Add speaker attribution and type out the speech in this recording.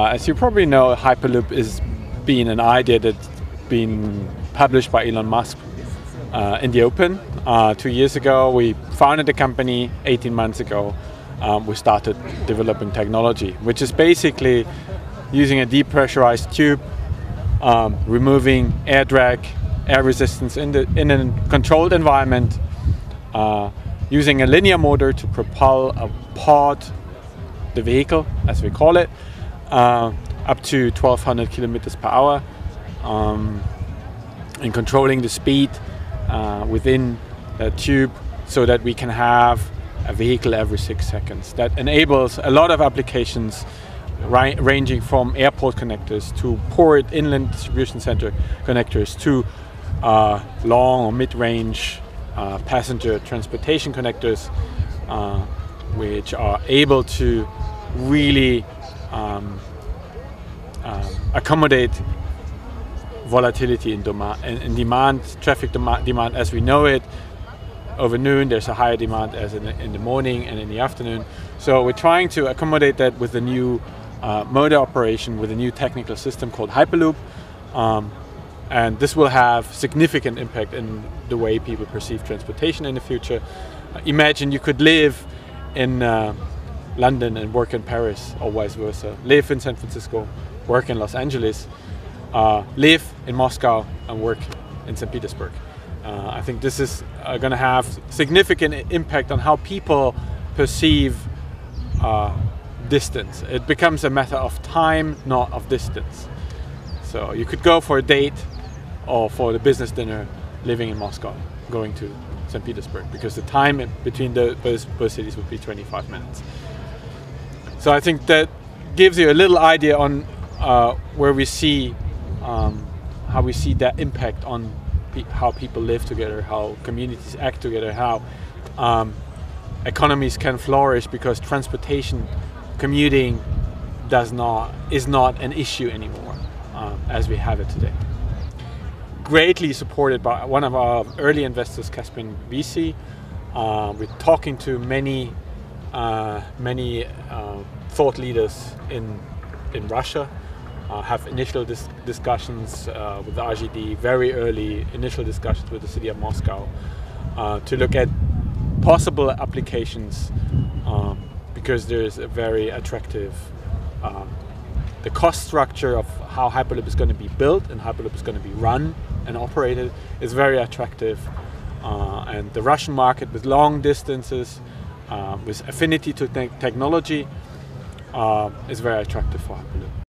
Speaker 1: As you probably know, Hyperloop is being an idea that's been published by Elon Musk in the open. 2 years ago, we founded the company. 18 months ago, we started developing technology, which is basically using a depressurized tube, removing air drag, air resistance in a controlled environment, using a linear motor to propel a pod, the vehicle as we call it, up to 1200 kilometers per hour, and controlling the speed within the tube so that we can have a vehicle every 6 seconds. That enables a lot of applications ranging from airport connectors to port inland distribution center connectors to long or mid-range passenger transportation connectors, which are able to really accommodate volatility in demand, traffic demand as we know it. Over noon there's a higher demand as in the morning and in the afternoon. So we're trying to accommodate that with a new motor operation, with a new technical system called Hyperloop. And this will have significant impact in the way people perceive transportation in the future. Imagine you could live in London and work in Paris, or vice versa. Live in San Francisco, work in Los Angeles, live in Moscow and work in St. Petersburg. I think this is going to have significant impact on how people perceive distance. It becomes a matter of time, not of distance. So you could go for a date or for the business dinner living in Moscow, going to St. Petersburg, because the time between both cities would be 25 minutes. So I think that gives you a little idea on where we see how we see that impact on how people live together, how communities act together, how economies can flourish, because transportation, commuting is not an issue anymore as we have it today. Greatly supported by one of our early investors, Caspian VC. We're talking to many thought leaders in Russia. Have initial discussions with the RGD, very early initial discussions with the city of Moscow to look at possible applications, because there is a very attractive, the cost structure of how Hyperloop is going to be built and Hyperloop is going to be run and operated is very attractive, and the Russian market with long distances, with affinity to technology, is very attractive for Hyperloop.